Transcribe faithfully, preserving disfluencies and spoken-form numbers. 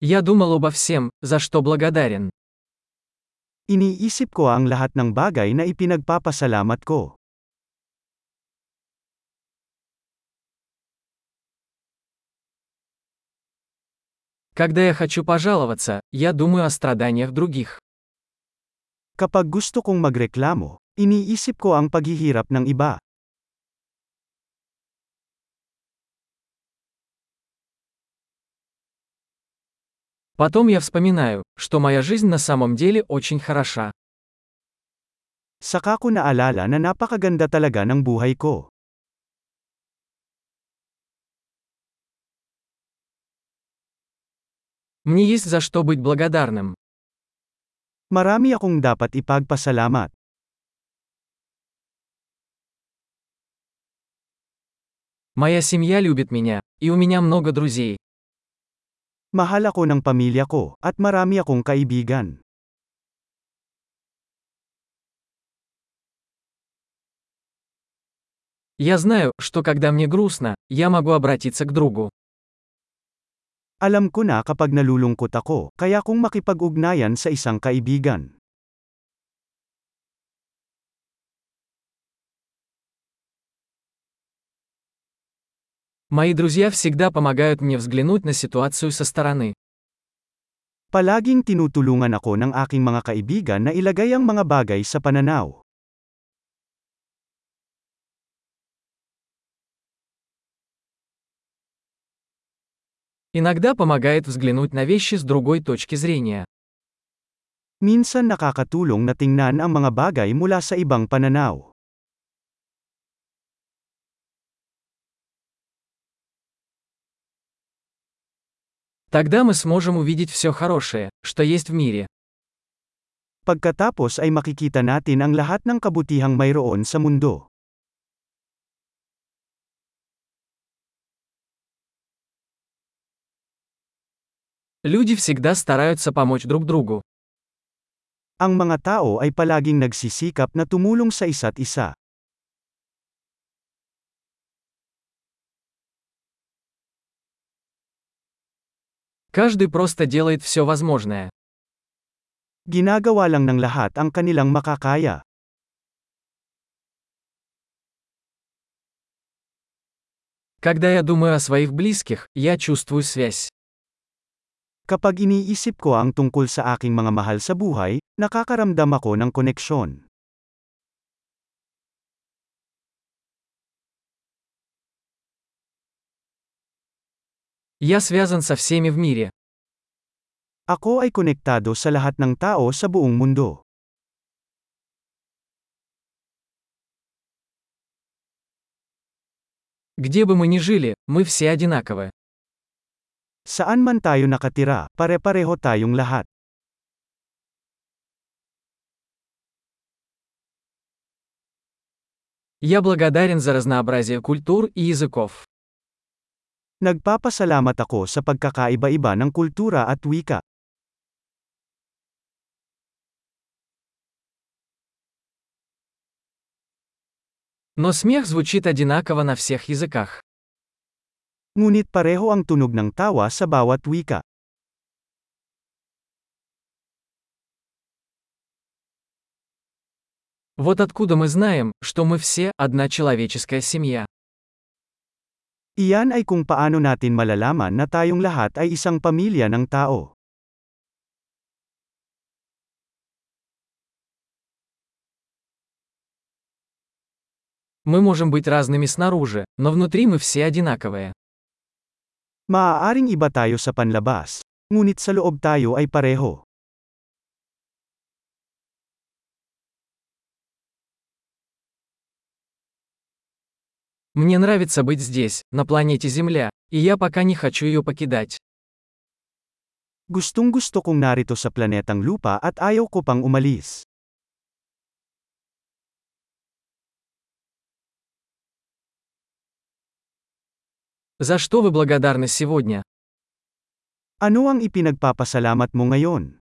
Я думал обо всем, за что благодарен. Iniisip ko ang lahat ng bagay na ipinagpapasalamat ko. Когда я хочу пожаловаться, я думаю о страданиях других. Kapag gusto kong magreklamo, iniisip ko ang paghihirap ng iba. Потом я вспоминаю, что моя жизнь на самом деле очень хороша. Saka ko naalala na napakaganda talaga ng buhay ko. Мне есть за что быть благодарным. Marami akong dapat ipagpasalamat. Моя семья любит меня, и у меня много друзей. Mahal ako ng pamilya ko, at marami akong kaibigan. Я знаю, что когда мне грустно, я могу обратиться к другу. Alam ko na kapag nalulungkot ako, kaya kong makipag-ugnayan sa isang kaibigan. Мои друзья всегда помогают мне взглянуть на ситуацию со стороны. Palaging tinutulungan ako ng aking mga kaibigan na ilagay ang mga bagay sa pananaw. Иногда помогает взглянуть на вещи с другой точки зрения. Minsan nakakatulong na tingnan ang mga bagay mula sa ibang pananaw. Тогда мы сможем увидеть все хорошее, что есть в мире. Pagkatapos ay makikita natin ang lahat ng kabutihang mayroon sa mundo. Люди всегда стараются помочь друг другу. Ang mga tao ay palaging nagsisikap na tumulong sa isa't isa. Каждый просто делает все возможное. Ginagawa lang ng lahat ang kanilang makakaya. Когда я думаю о своих близких, я чувствую связь. Kapag iniisip ko ang tungkol sa aking mga mahal sa buhay, nakakaramdam ako ng koneksyon. Я связан со всеми в мире. Ako ay konektado sa lahat ng tao sa buong mundo. Где бы мы ни жили, мы все одинаковы. Saan man tayo nakatira, pare-pareho tayong lahat. Я благодарен за разнообразие культур и языков. Nagpapasalamat ako sa pagkakaiba-iba ng kultura at wika. Но смех звучит одинаково на всех языках. Ngunit pareho ang tunog ng tawa sa bawat wika. Вот откуда мы знаем, что мы все одна человеческая семья. Iyan ay kung paano natin malalaman na tayong lahat ay isang pamilya ng tao. Мы можем быть разными снаружи, но внутри мы все одинаковые. Maaaring iba tayo sa panlabas, ngunit sa loob tayo ay pareho. Мне нравится быть здесь, на планете Земля, и я пока не хочу ее покидать. Gustong-gusto kong narito sa planetang lupa at ayaw ko pang umalis. За что вы благодарны сегодня? Ano ang ipinagpapasalamat mo ngayon?